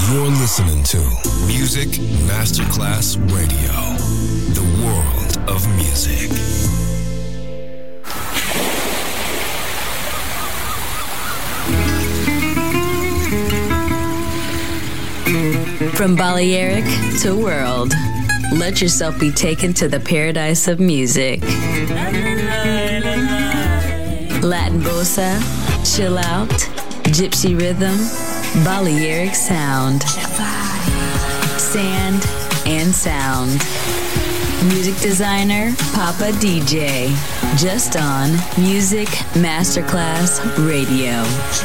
You're listening to Music Masterclass Radio, the world of music. From Balearic to world, let yourself be taken to the paradise of music. Latin bossa, chill out, gypsy rhythm, Balearic sound, sand and sound. Music designer, Papa DJ, just on Music Masterclass Radio.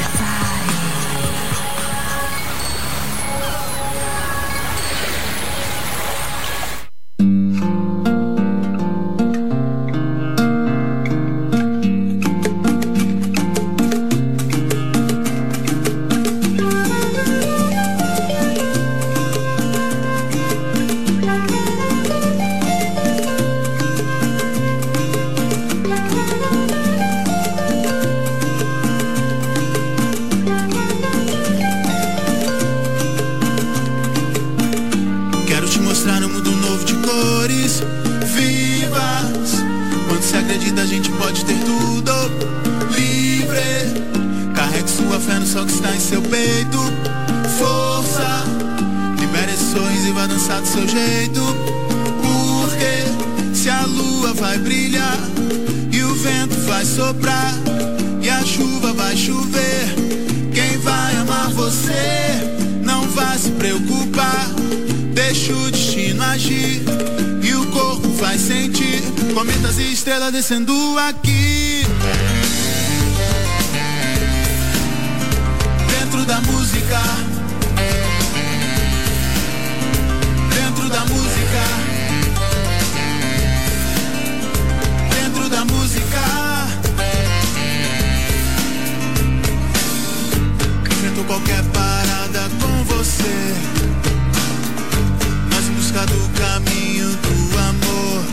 Descendo aqui dentro da música, dentro da música, dentro da música. Enfrento qualquer parada com você, nós em busca do caminho do amor.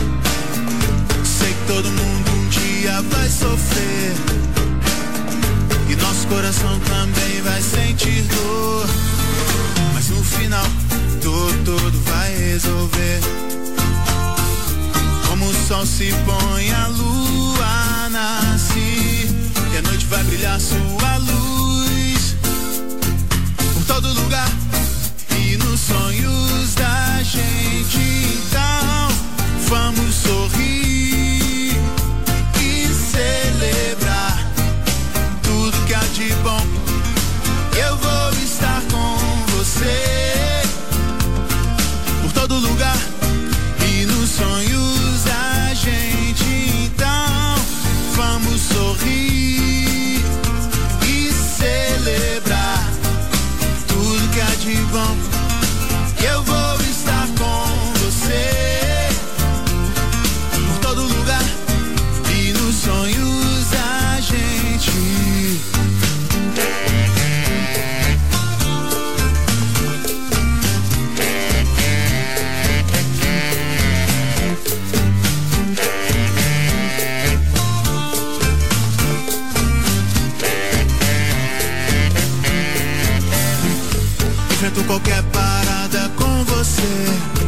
Todo mundo um dia vai sofrer e nosso coração também vai sentir dor, mas no final tudo vai resolver. Como o sol se põe, a lua nasce e a noite vai brilhar sua luz por todo lugar e nos sonhos da gente. Então vamos sorrir, celebrar tudo que há de bom. Eu vou estar com você por todo lugar e nos sonhos da gente. Então vamos sorrir e celebrar tudo que há de bom. Eu vou estar com você por todo lugar e nos sonhos da gente. Enfrento qualquer parada com você,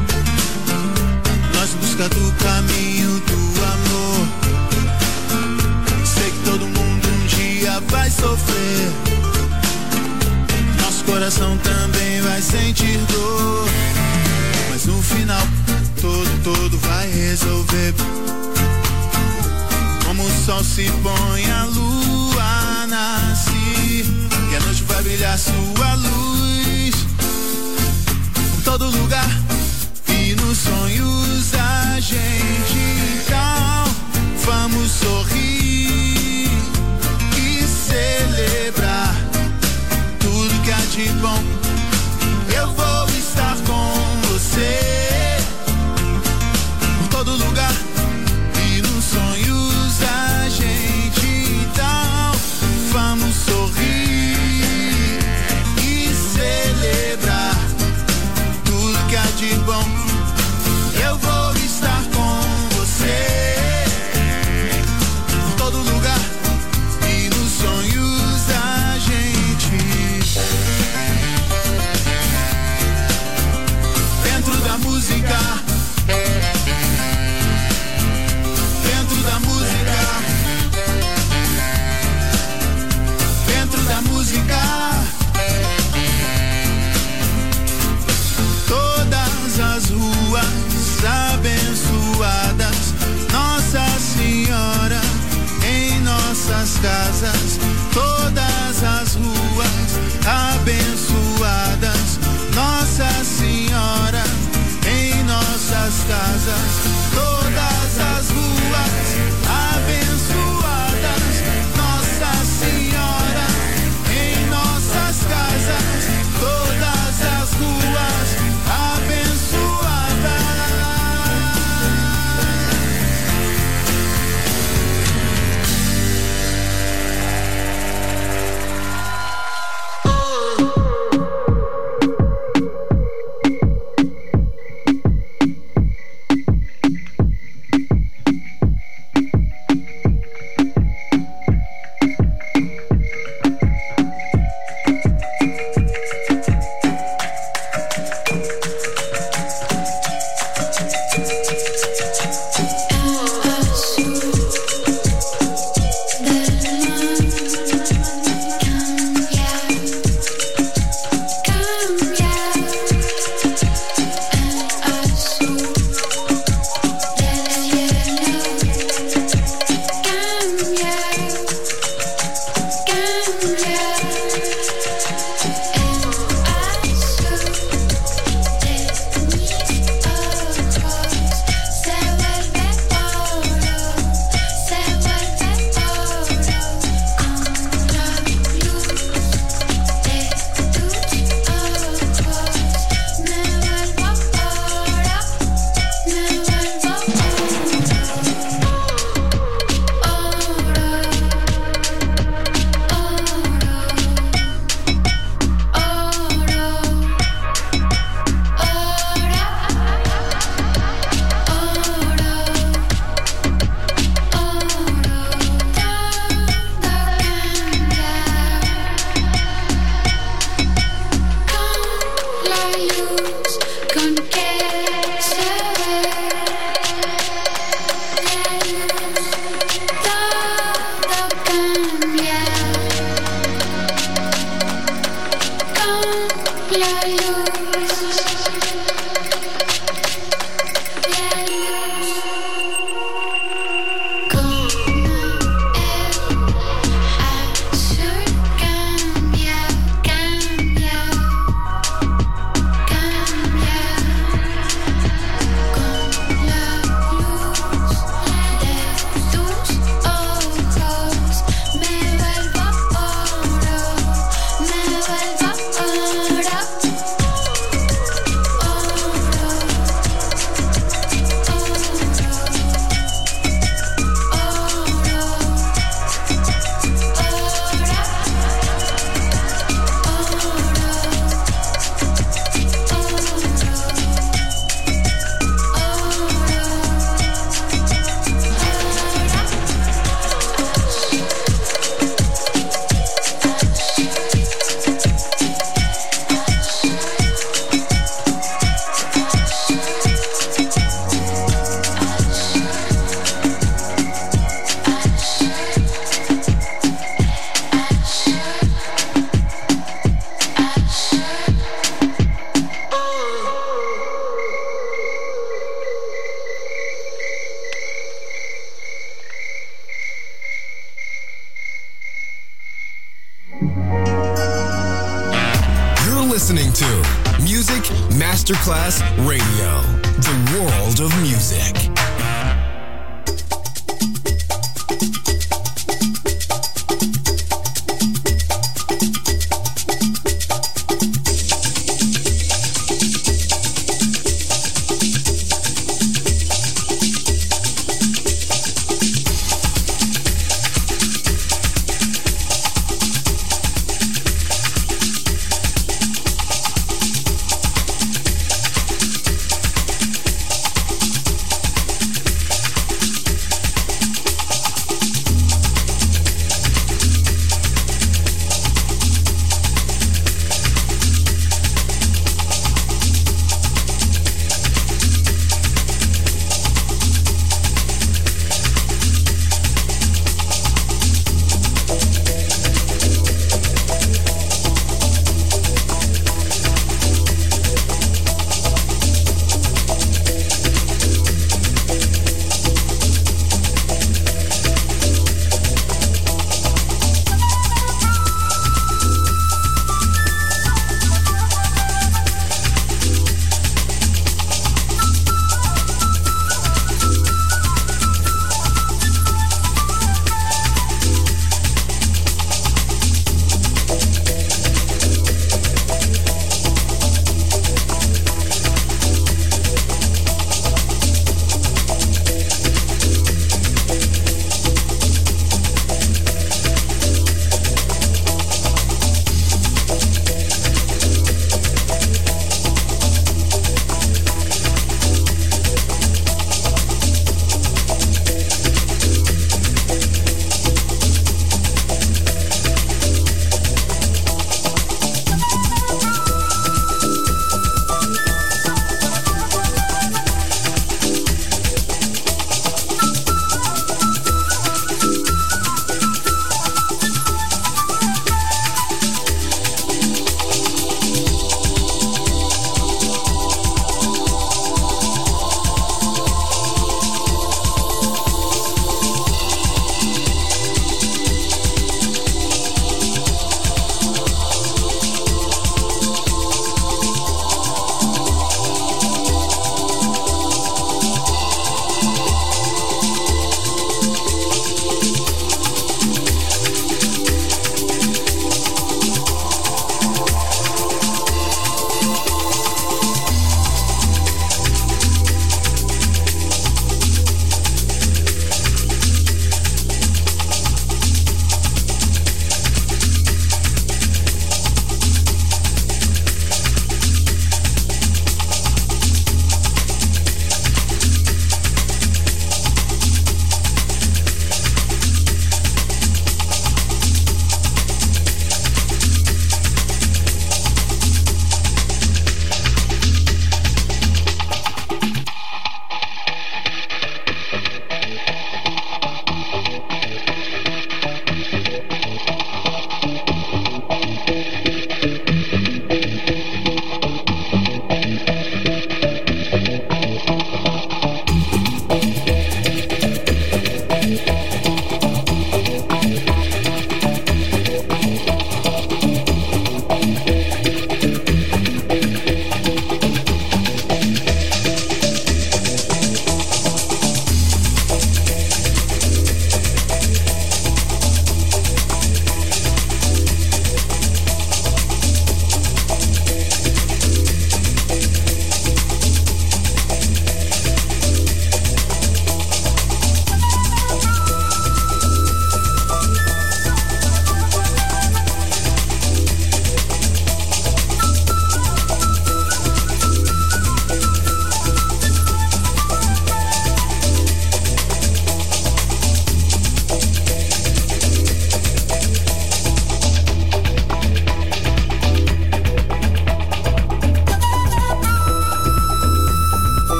nós em busca do caminho do amor. Sei que todo mundo um dia vai sofrer, nosso coração também vai sentir dor, mas no final tudo vai resolver. Como o sol se põe, a lua nasce e a noite vai brilhar sua luz por todo lugar e nos sonhos da gente. Então vamos sorrir e celebrar tudo que há de bom. Eu vou estar com você por todo lugar e nos sonhos da gente. Então vamos sorrir e celebrar tudo que há de bom. Eu vou estar com você por todo lugar e nos sonhos da gente. listening to Music Masterclass Radio, the world of music.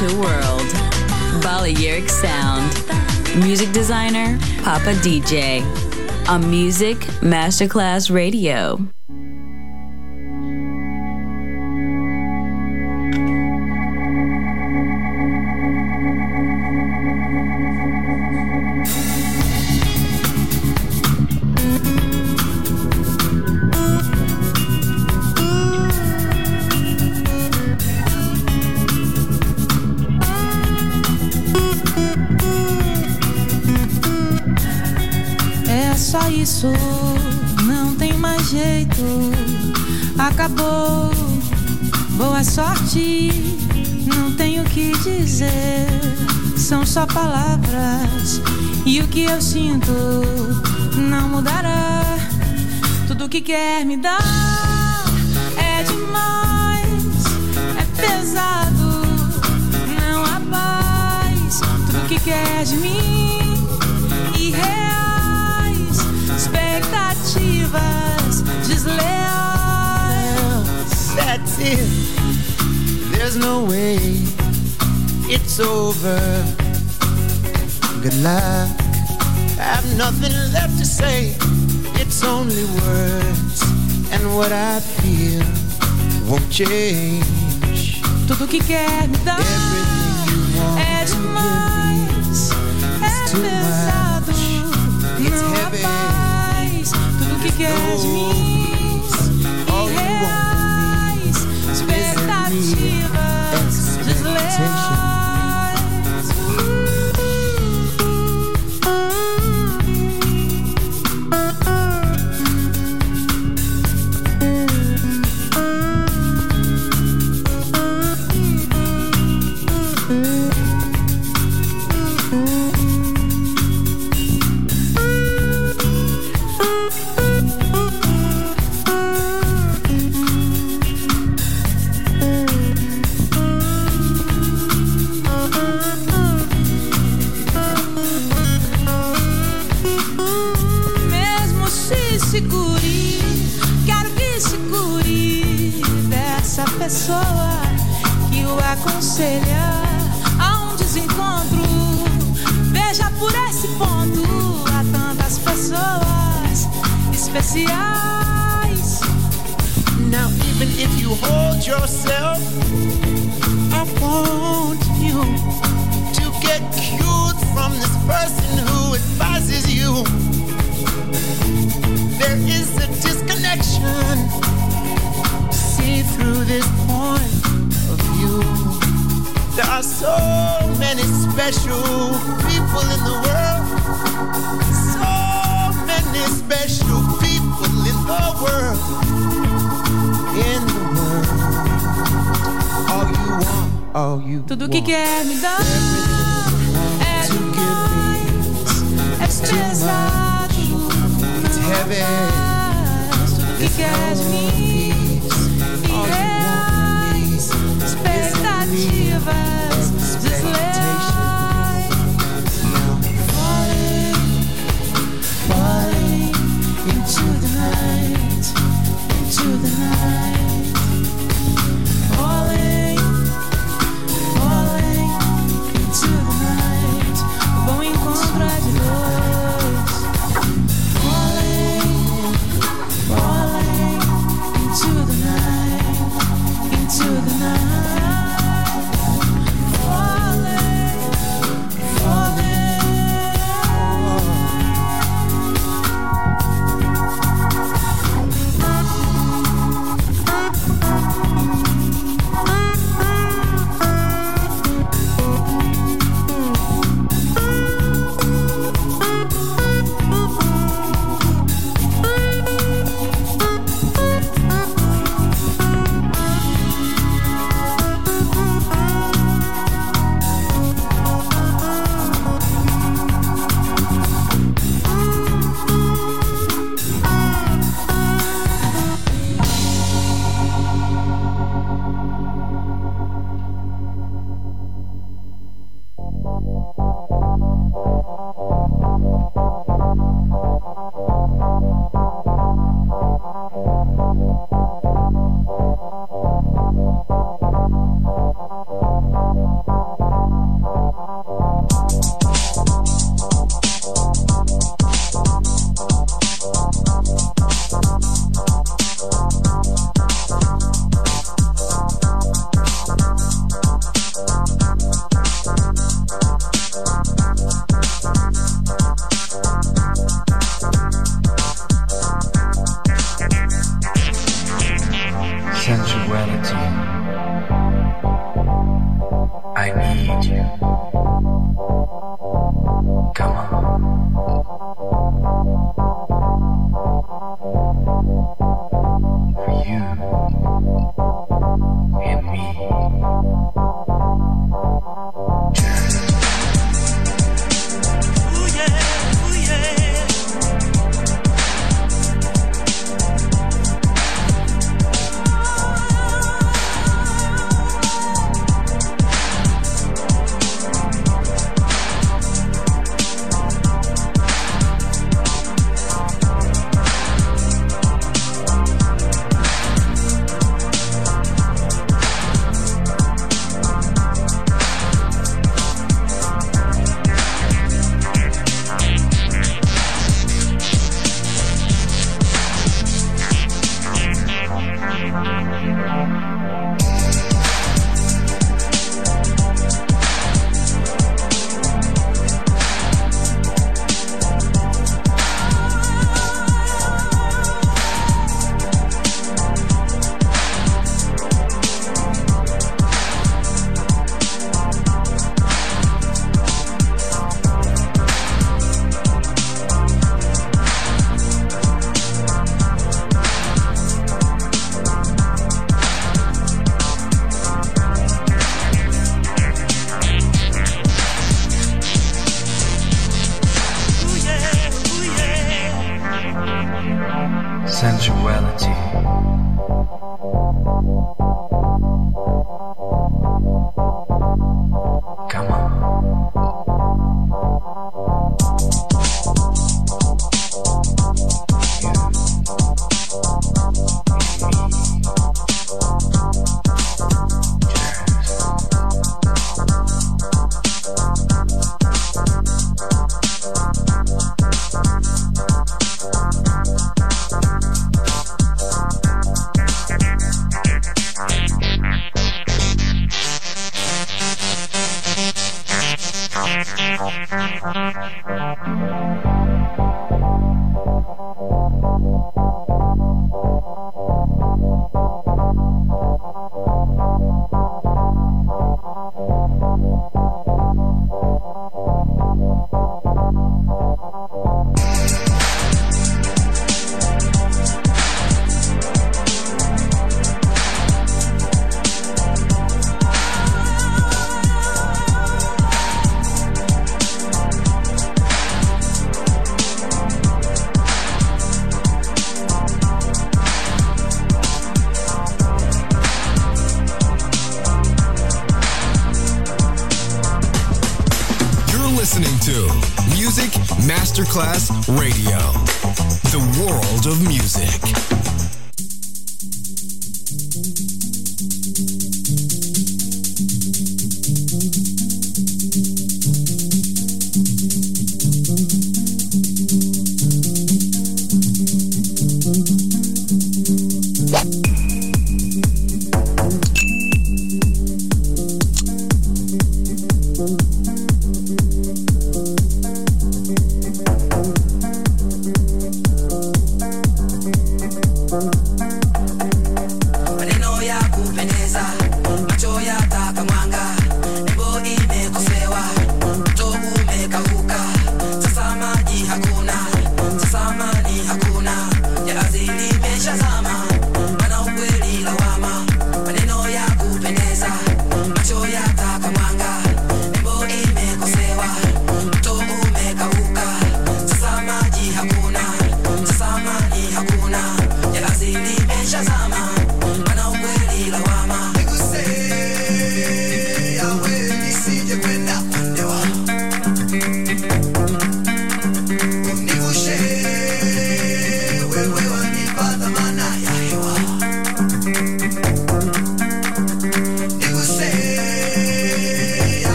to world. Balearic sound. Music designer, Papa DJ. On Music Masterclass Radio. Só isso, não tem mais jeito. Acabou, boa sorte. Não tenho o que dizer. São só palavras. E o que eu sinto não mudará. Tudo que quer me dar é demais, é pesado, não há paz. Tudo que quer de mim, irreal. Expectativas desleais. That's it. There's no way it's over. Good luck. I have nothing left to say. It's only words, and what I feel won't change. Tudo que quer me dar é demais, é pesado, não há paz. Tudo que quer de mim, irreais, expectativas desleais. Pessoa que o aconselha a um desencontro. Veja por esse ponto, há tantas pessoas especiais. Now even if you hold yourself, I want you to get cured from this person who advises you. There is a disconnection. See through this point of view. There are so many special people in the world. So many special people in the world. In the world. All you want, all you tudo want. Que quer me dar é demais, é pesado, it's heavy. Tudo que quer de mim, irreais, expectativas desleais. Falling into the night, into the night. Falling into the night. O bom encontro é de dois. Falling into the night. sensuality. Come on. Masterclass Radio, the world of music.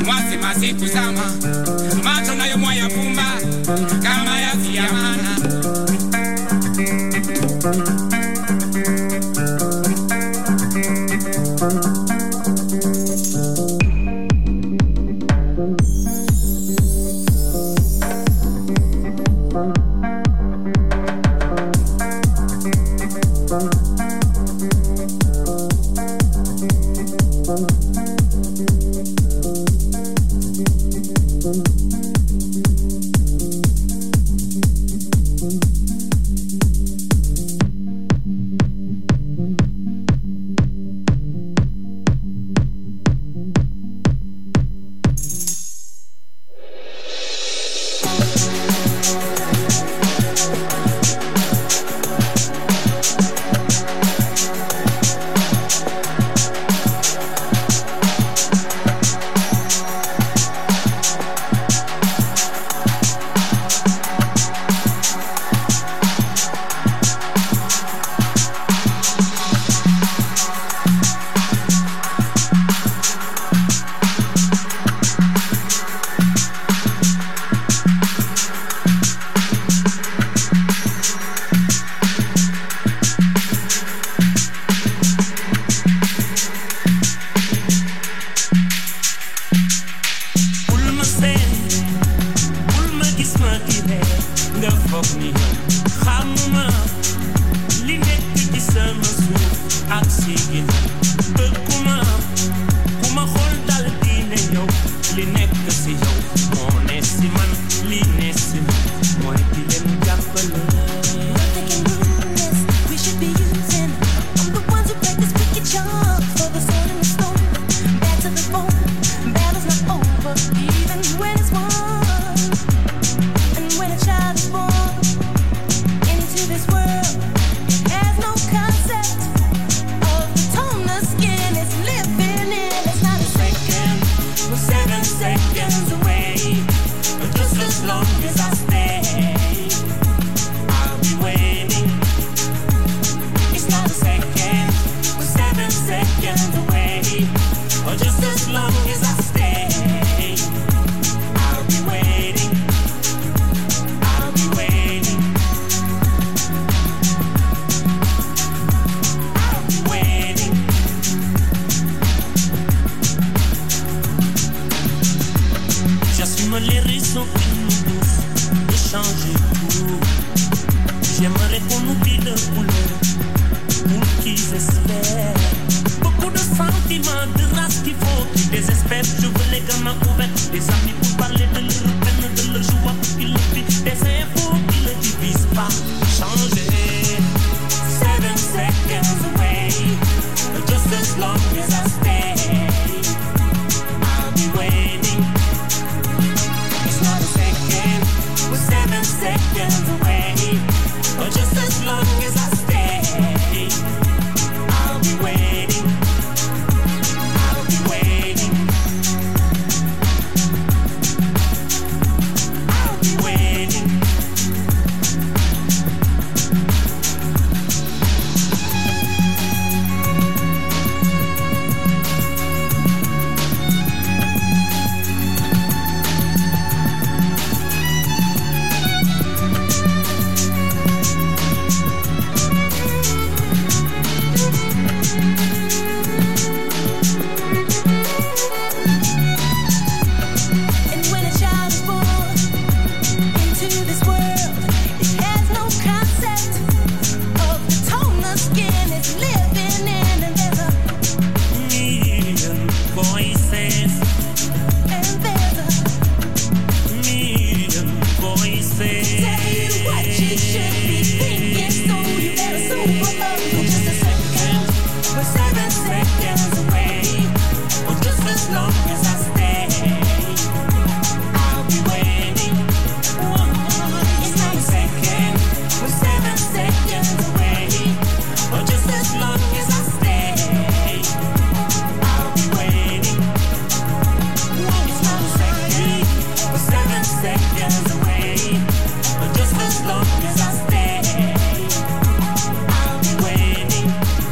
mwasi masiku zama macho nayo mwaya pumba kama ya ziyamana.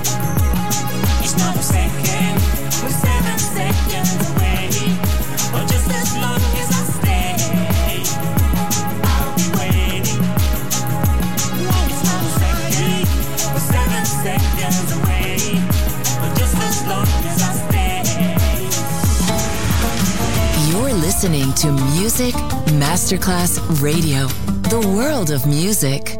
Or just listening to Music Masterclass Radio, the world of music.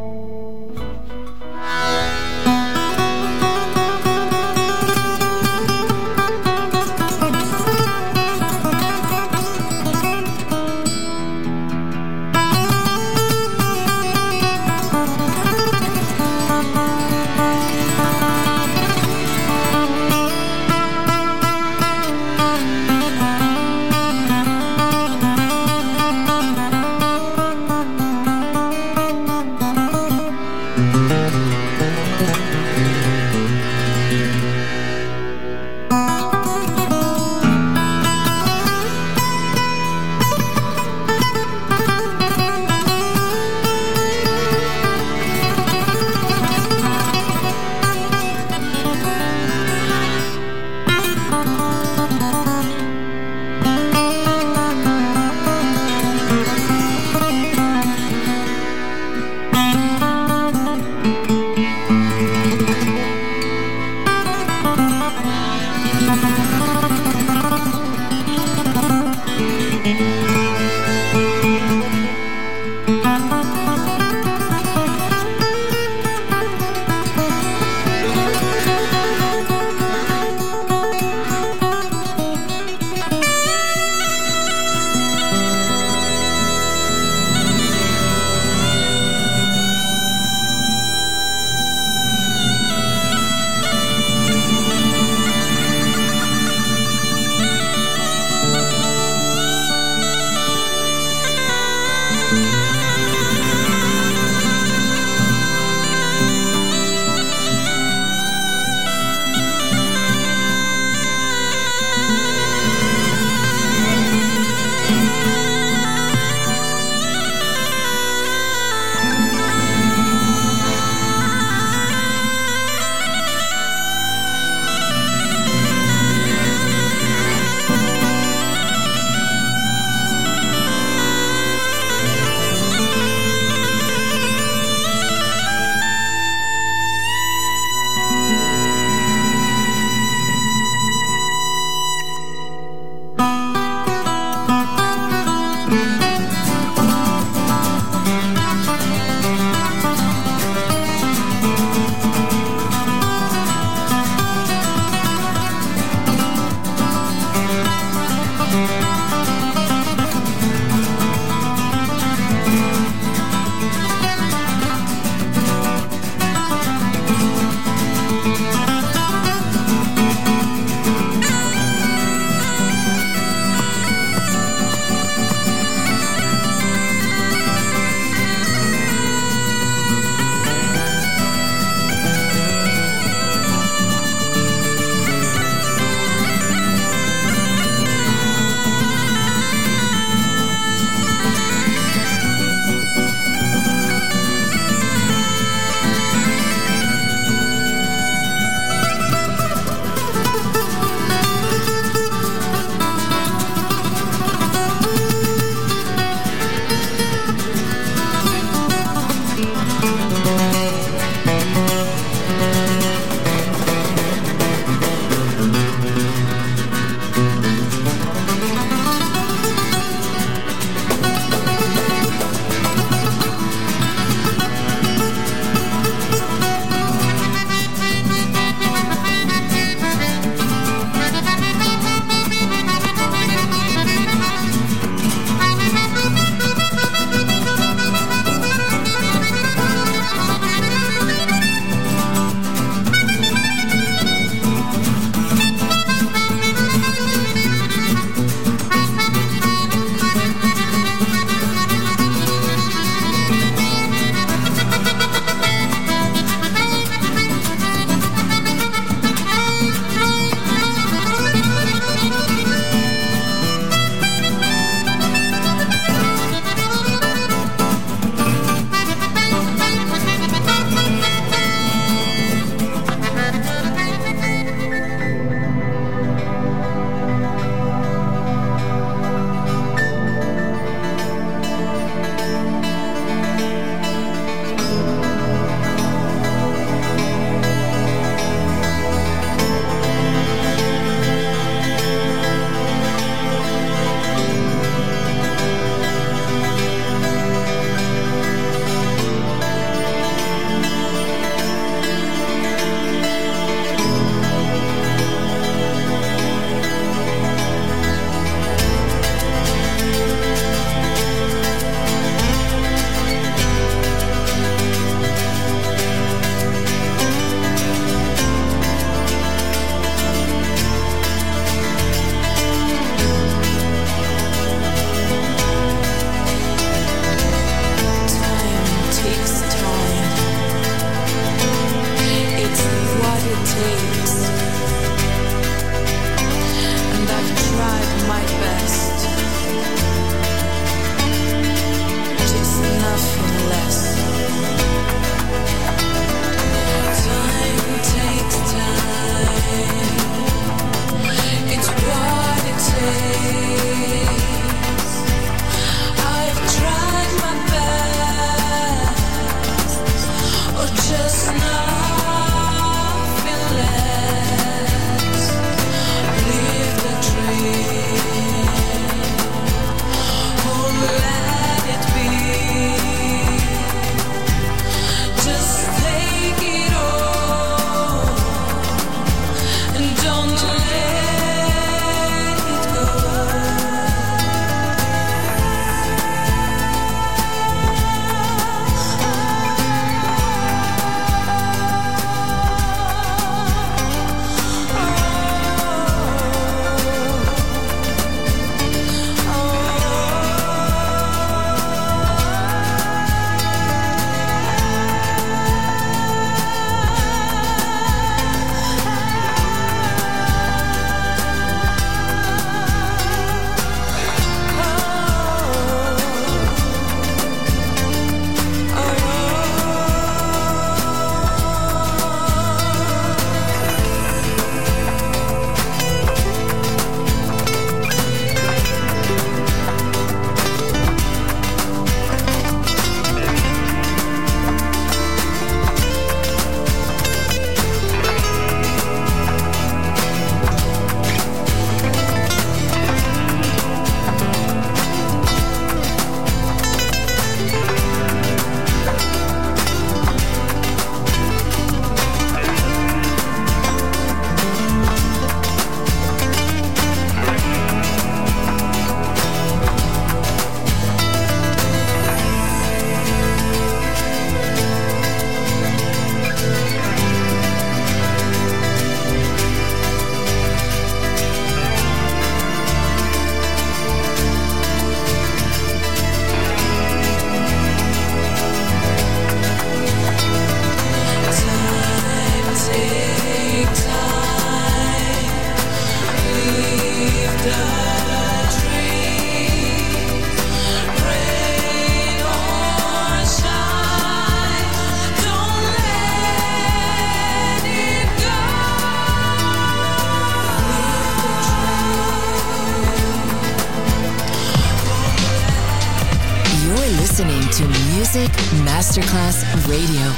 listening to Music Masterclass Radio.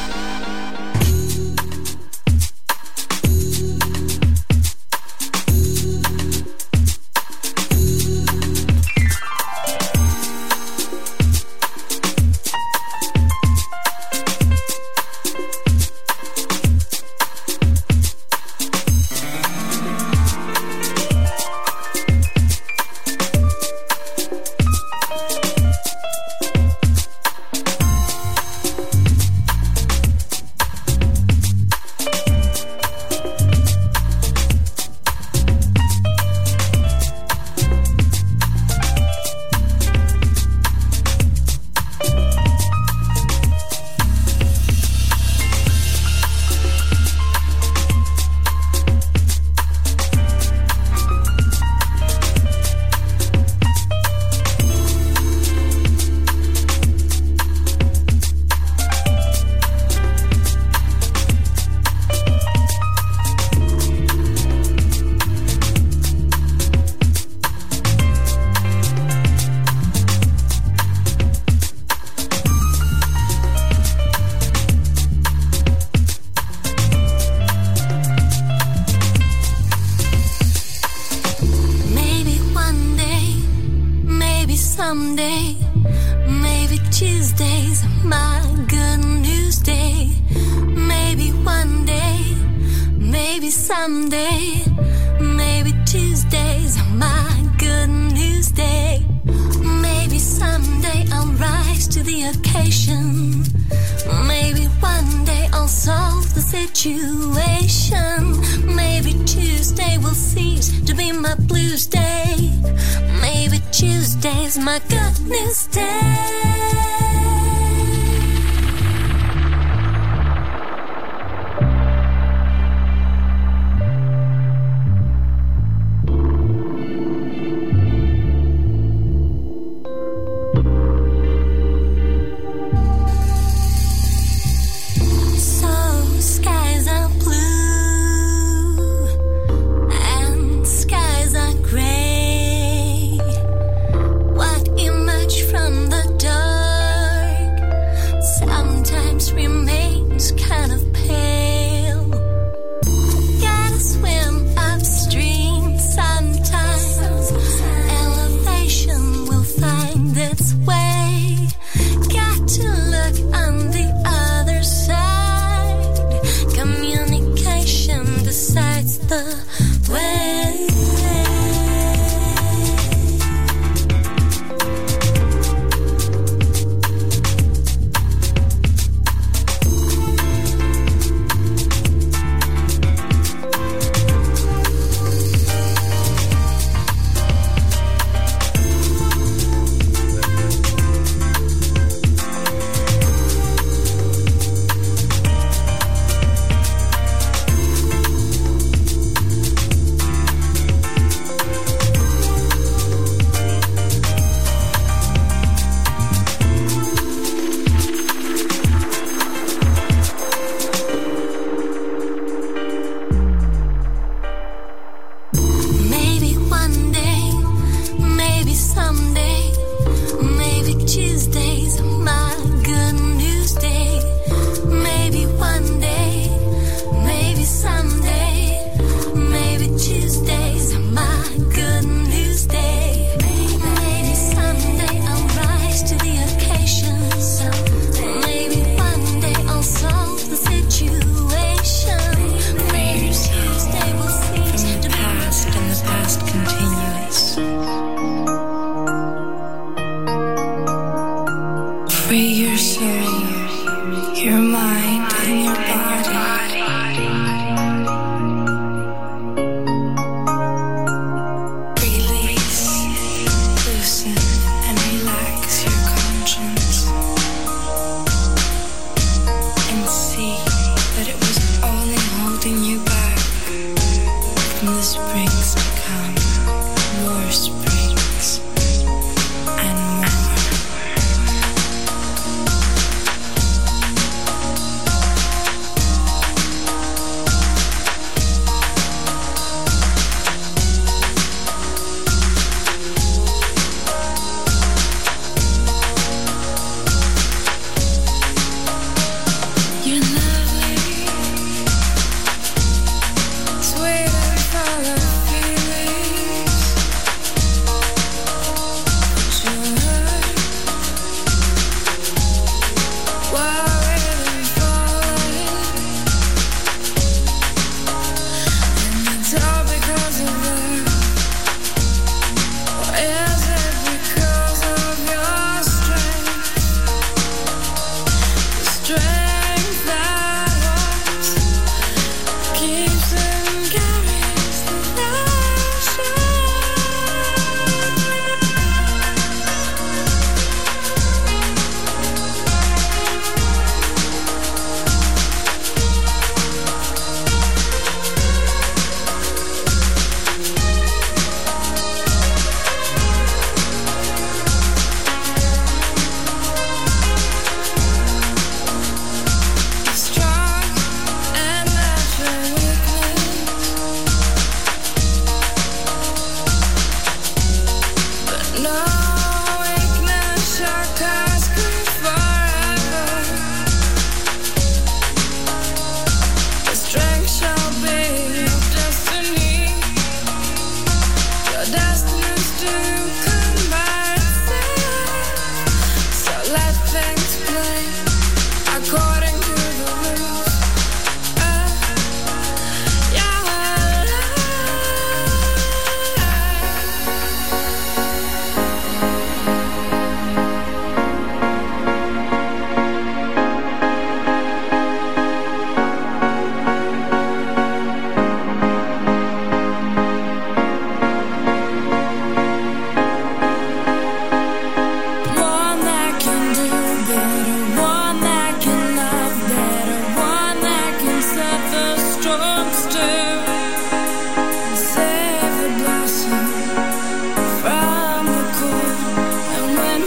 someday. Maybe Tuesday's my good news day. Maybe one day, maybe someday. Maybe Tuesday's my good news day. Maybe someday I'll rise to the occasion. Maybe one day I'll solve the situation. Maybe Tuesday will cease to be my blues day. Maybe Tuesday's my good news day.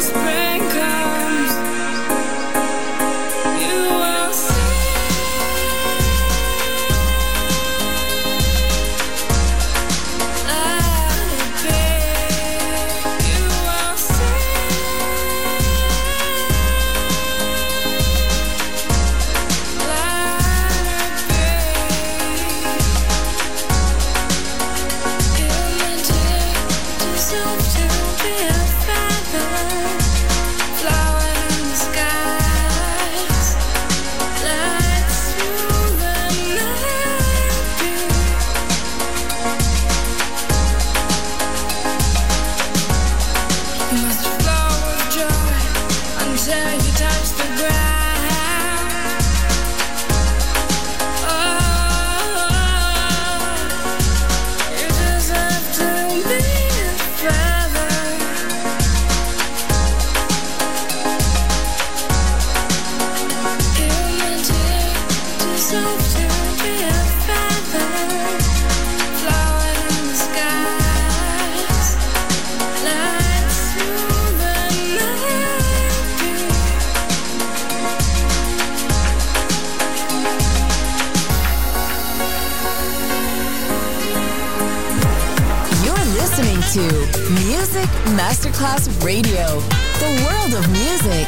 to Music Masterclass Radio, the world of music.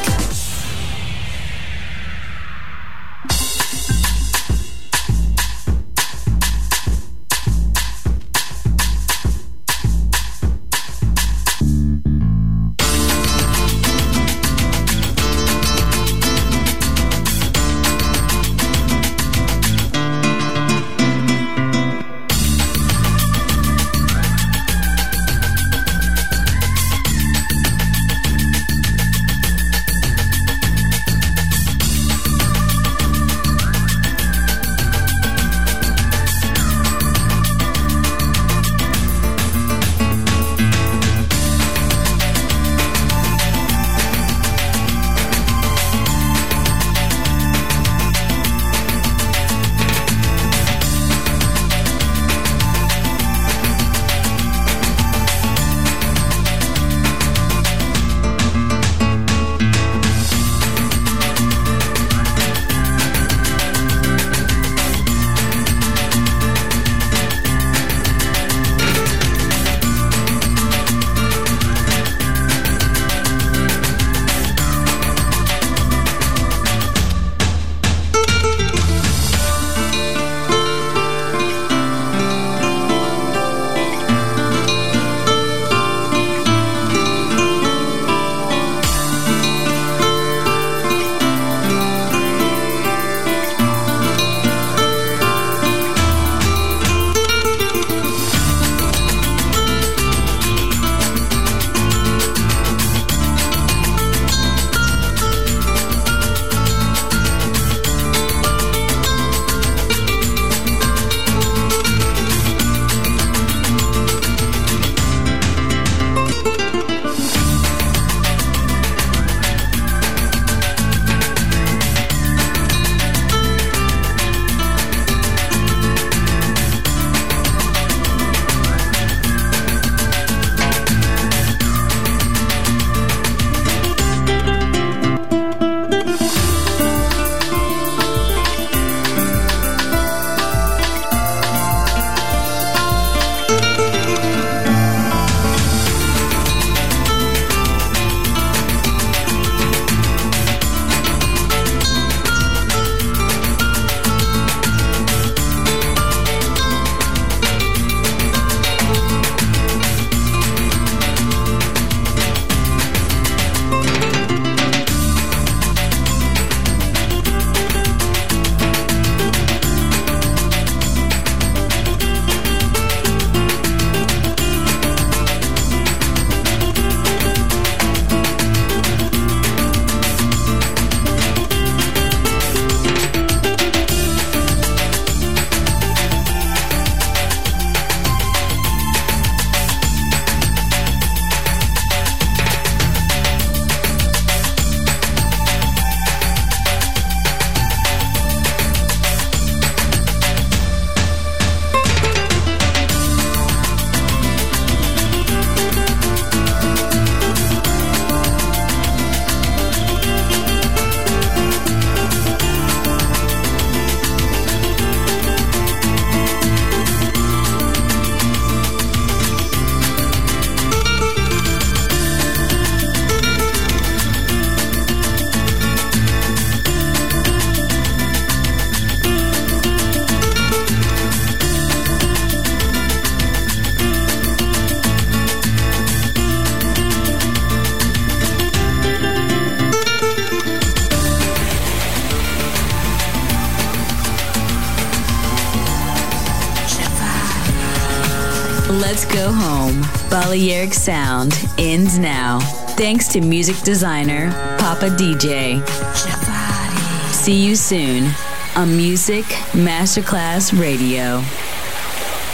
Let's go home. Balearic Sound ends now. Thanks to music designer Papa DJ. See you soon on Music Masterclass Radio.